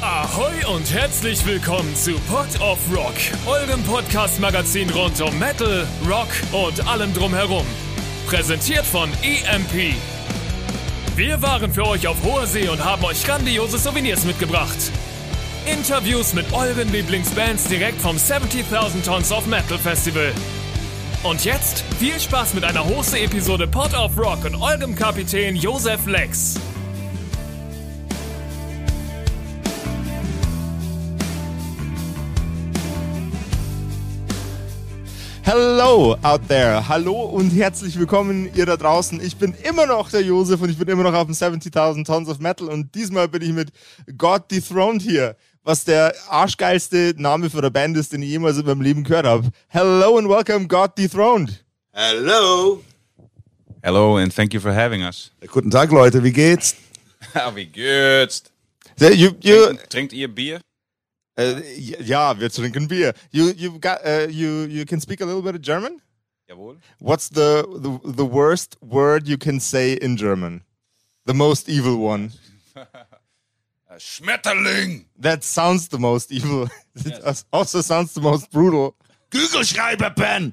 Ahoi und herzlich willkommen zu Pod of Rock, eurem Podcast-Magazin rund um Metal, Rock und allem drumherum. Präsentiert von EMP. Wir waren für euch auf hoher See und haben euch grandiose Souvenirs mitgebracht. Interviews mit euren Lieblingsbands direkt vom 70,000 Tons of Metal Festival. Und jetzt viel Spaß mit einer Hose-Episode Pod of Rock und eurem Kapitän Josef Lex. Hello out there. Hallo und herzlich willkommen ihr da draußen. Ich bin immer noch der Josef und ich bin immer noch auf dem 70,000 Tons of Metal und diesmal bin ich mit God Dethroned hier, was der arschgeilste Name für eine Band ist, den ich jemals in meinem Leben gehört habe. Hello and welcome God Dethroned. Hello. Hello and thank you for having us. Guten Tag, Leute. Wie geht's? Wie geht's? Trinkt ihr Bier? Ja, wir trinken Bier. You can speak a little bit of German? Jawohl. What's the worst word you can say in German? The most evil one. Schmetterling. That sounds the most evil. It also sounds the most brutal. Kugelschreiberpen.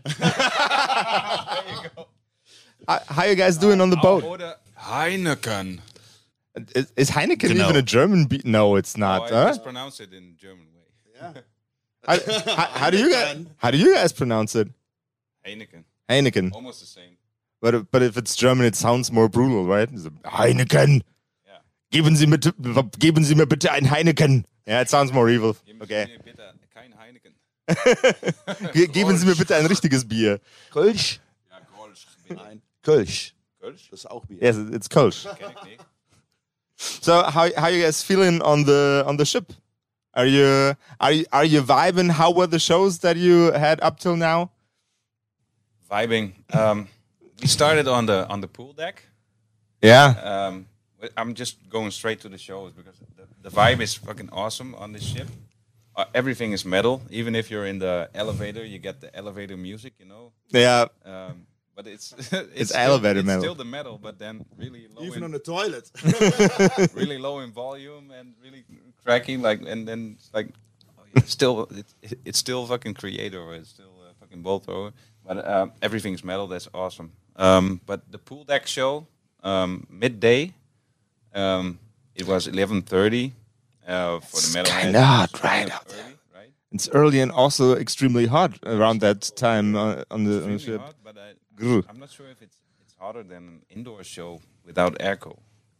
How you guys doing on the boat? Oder Heineken. Is Heineken even a German beer? No, it's not. I just pronounce it in German way. How do you guys pronounce it? Heineken. Heineken. Almost the same. But if it's German, it sounds more brutal, right? Heineken. Yeah. Geben Sie mir bitte ein Heineken. Yeah, it sounds more evil. Okay. Geben Sie mir bitte kein Heineken. Geben Sie mir bitte ein richtiges Bier. Kölsch? Ja, Kölsch. Bitte. Nein. Kölsch. Kölsch? Das ist auch Bier. Yes, it's Kölsch. Kenn ich nicht. So how you guys feeling on the ship? Are you vibing? How were the shows that you had up till now? Vibing. We started on the pool deck. Yeah. I'm just going straight to the shows because the vibe is fucking awesome on this ship. Everything is metal. Even if you're in the elevator, you get the elevator music, you know. Yeah. But it's elevator it's metal. still the metal, but then really low. Even on the toilet. Really low in volume and really cracky, like, and then it's like, it's still fucking Creator, or it's still fucking Bolt Thrower, but everything's metal. That's awesome. But the pool deck show, midday, it was 11:30 for the metal. Kinda hot, right? Early, right? It's early and also extremely hot around that time on the ship. Hot, but I'm not sure if it's hotter than an indoor show without airco.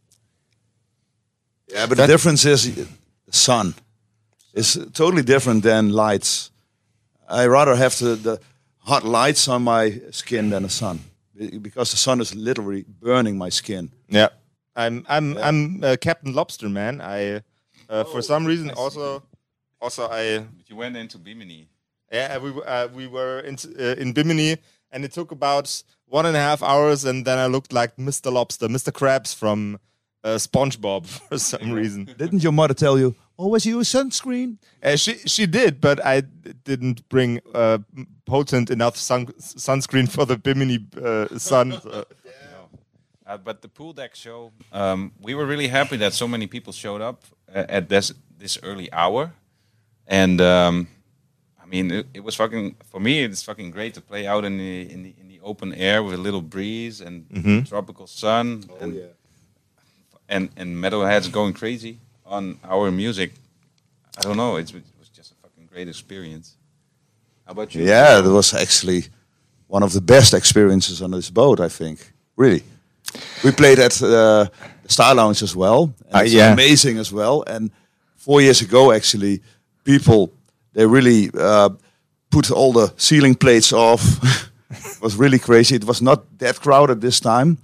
Yeah, but the difference is the sun. It's totally different than lights. I rather have the hot lights on my skin than the sun, because the sun is literally burning my skin. Yeah, I'm Captain Lobster, man. I for some reason also I. But you went into Bimini. Yeah, we were in Bimini, and it took about 1.5 hours, and then I looked like Mr. Lobster, Mr. Krabs from SpongeBob for some reason. Didn't your mother tell you, always use sunscreen? She did, but I didn't bring potent enough sunscreen for the Bimini sun. So. But the pool deck show, we were really happy that so many people showed up at this early hour, and I mean, it was fucking, for me, it's fucking great to play out in the open air with a little breeze and tropical sun, and metalheads going crazy on our music. I don't know, it was just a fucking great experience. How about you? Yeah, it was actually one of the best experiences on this boat, I think. Really. We played at the Star Lounge as well. And it's amazing as well. And 4 years ago, actually, people, they really put all the ceiling plates off. It was really crazy. It was not that crowded this time.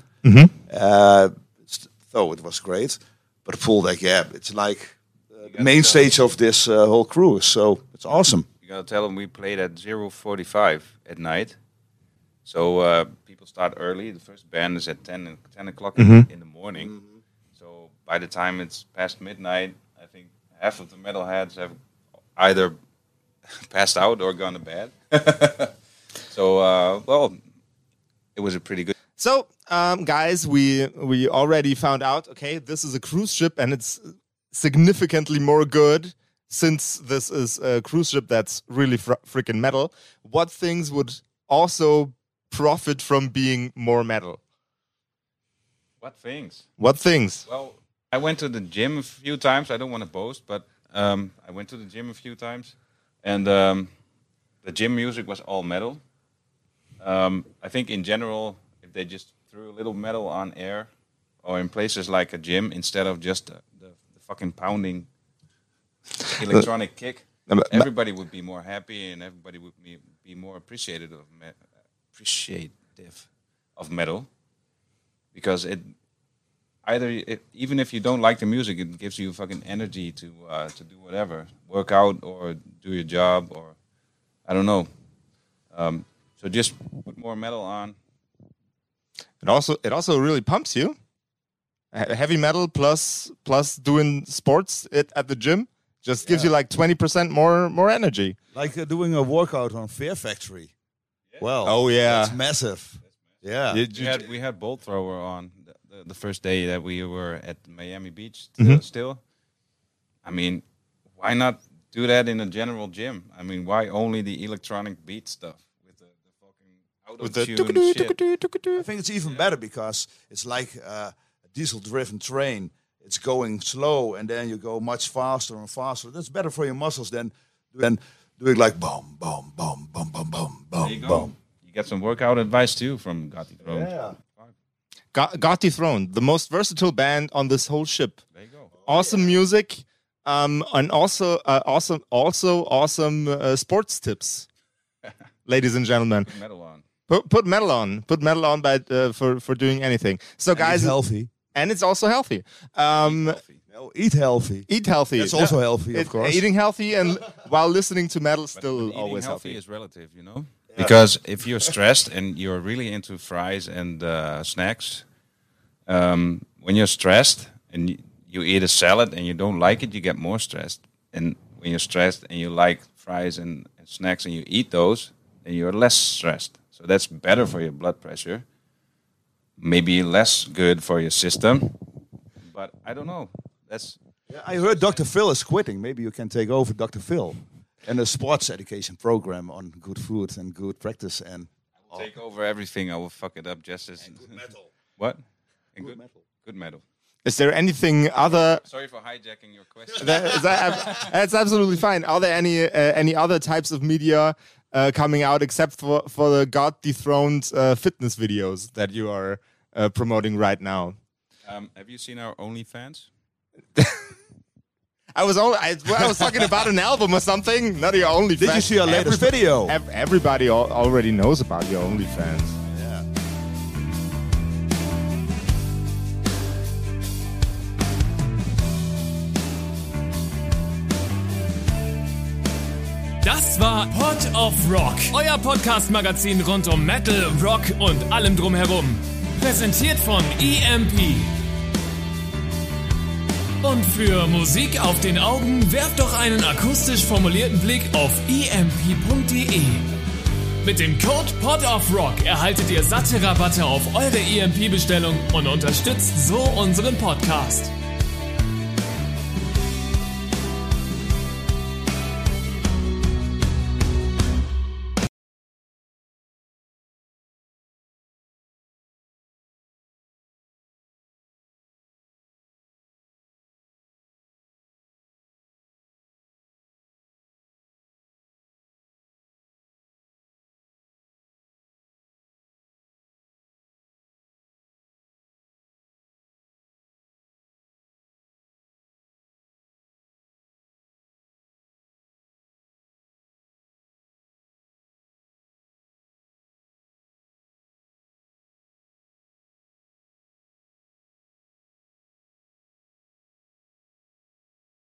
So it was great. But pool deck, it's like the main stage of this whole cruise. So it's awesome. You gotta tell them we played at 0:45 at night. So people start early. The first band is at 10 o'clock in the morning. So by the time it's past midnight, I think half of the metalheads have either passed out or gone to bed. So, well, it was a pretty good... So, guys, we already found out, okay, this is a cruise ship and it's significantly more good, since this is a cruise ship that's really freaking metal? What things would also profit from being more metal? What things? What things? Well, I went to the gym a few times. I don't want to boast, but I went to the gym a few times, and the gym music was all metal. I think in general, if they just threw a little metal on air, or in places like a gym, instead of just the fucking pounding electronic kick, everybody would be more happy, and everybody would be more appreciative of metal, because even if you don't like the music, it gives you fucking energy to do whatever, work out or do your job, or I don't know. So just put more metal on. It also really pumps you. Heavy metal plus doing sports at the gym just gives you like 20% more energy. Like doing a workout on Fear Factory. Yeah. Well, oh yeah, that's massive. Yeah, we had Bolt Thrower on the first day that we were at Miami Beach. Still, I mean, why not do that in a general gym? I mean, why only the electronic beat stuff with the fucking auto-tune shit? I think it's even better because it's like a diesel-driven train. It's going slow, and then you go much faster and faster. That's better for your muscles than doing like boom, boom, boom, boom, boom, boom, boom, boom. You get some workout advice too from Got Dethroned. Yeah. Got Dethroned, the most versatile band on this whole ship. There you go. Awesome music, and also awesome sports tips, ladies and gentlemen. Put metal on. Put metal on. Put metal on, for doing anything. So, guys, it's healthy, and it's also healthy. Eat healthy. Eat healthy. It's also healthy, of course. Eating healthy and while listening to metal still but always healthy healthy. is relative, you know. Yeah. Because if you're stressed and you're really into fries and snacks, when you're stressed and you eat a salad and you don't like it, you get more stressed. And when you're stressed and you like fries and snacks and you eat those, then you're less stressed. So that's better for your blood pressure. Maybe less good for your system. But I don't know. I heard Dr. Phil is quitting. Maybe you can take over Dr. Phil and a sports education program on good food and good practice. And I will take over everything. I will fuck it up just as... And good metal. What? And good metal. Good metal. Is there anything other... Sorry for hijacking your question. That's absolutely fine. Are there any other types of media coming out except for the Got Dethroned fitness videos that you are promoting right now? Have you seen our OnlyFans? I was talking about an album or something, not your OnlyFans. Did you see our latest video? Everybody already knows about your OnlyFans. Yeah. Das war Pod of Rock, euer Podcast-Magazin rund um Metal, Rock und allem drumherum. Präsentiert von EMP. Und für Musik auf den Augen werft doch einen akustisch formulierten Blick auf emp.de. Mit dem Code PODOFROCK erhaltet ihr satte Rabatte auf eure EMP-Bestellung und unterstützt so unseren Podcast.